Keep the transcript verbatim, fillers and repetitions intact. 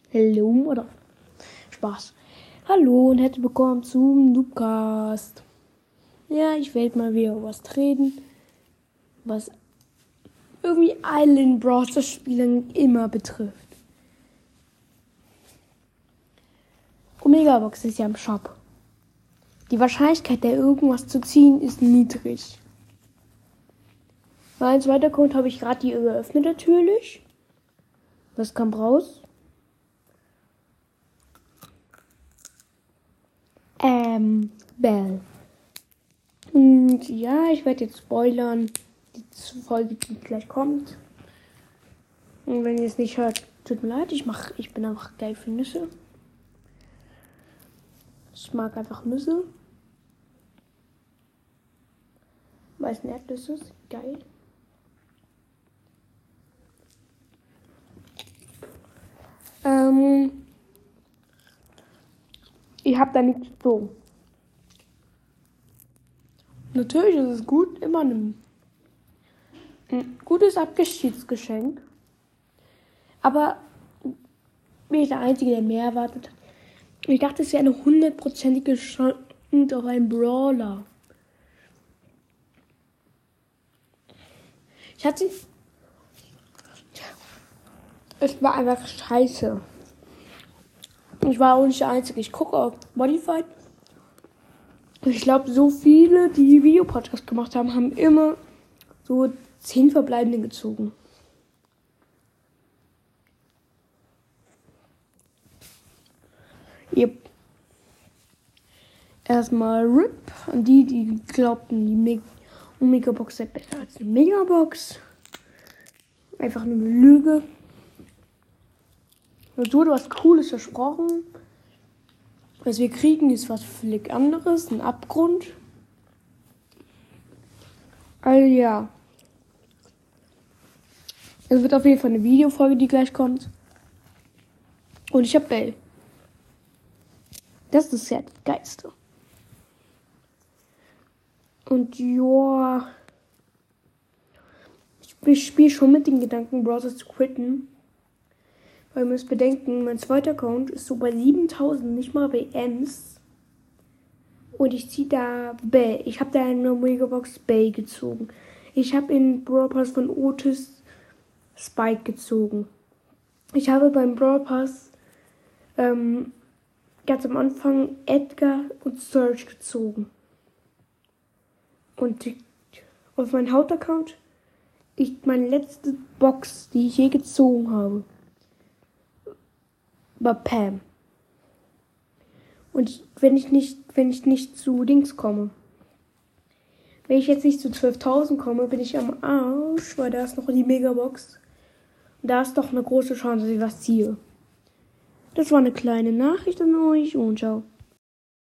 Hallo, oder? Spaß. Hallo und herzlich willkommen zum Noobcast. Ja, ich werde mal wieder über was reden, was irgendwie allen Browser-Spielern immer betrifft. Omegabox ist ja im Shop. Die Wahrscheinlichkeit, da irgendwas zu ziehen, ist niedrig. Mein zweiter Account habe ich gerade die geöffnet natürlich. Was kam raus? Ähm, Bell. Und ja, ich werde jetzt spoilern. Die Folge, die gleich kommt. Und wenn ihr es nicht hört, tut mir leid. Ich mach, ich bin einfach geil für Nüsse. Ich mag einfach Nüsse. Weißen Erdnüsse, geil. Ähm, ich habe da nichts so. Natürlich ist es gut, immer ein, ein gutes Abschiedsgeschenk. Aber bin ich der Einzige, der mehr erwartet hat. Ich dachte, es wäre eine hundertprozentige Chance auf einen Brawler. Ich hatte... Es war einfach scheiße. Ich war auch nicht der Einzige. Ich gucke auf Modified. Ich glaube, so viele, die Videopodcast gemacht haben, haben immer so zehn Verbleibende gezogen. Yep. Erstmal R I P an die, die glaubten, die Meg- Omegabox sei besser als eine Megabox. Einfach nur eine Lüge. Uns wurde was Cooles versprochen. Was wir kriegen, ist was völlig anderes. Ein Abgrund. Also ja. Es wird auf jeden Fall eine Videofolge, die gleich kommt. Und ich habe Bell. Das ist ja das Geilste. Und ja. Ich spiele schon mit den Gedanken, Browser zu quitten. Weil ihr müsst bedenken, mein zweiter Account ist so bei siebentausend, nicht mal bei Ems. Und ich ziehe da Bay. Ich habe da eine Megabox Bay gezogen. Ich habe in Brawl Pass von Otis Spike gezogen. Ich habe beim Brawl Pass ähm, ganz am Anfang Edgar und Surge gezogen. Und auf meinem Hauptaccount ich meine letzte Box, die ich je gezogen habe, war Pam. Und wenn ich nicht, wenn ich nicht zu Dings komme, wenn ich jetzt nicht zu zwölftausend komme, bin ich am Arsch, weil da ist noch die Megabox. Und da ist doch eine große Chance, dass ich was ziehe. Das war eine kleine Nachricht an euch und ciao.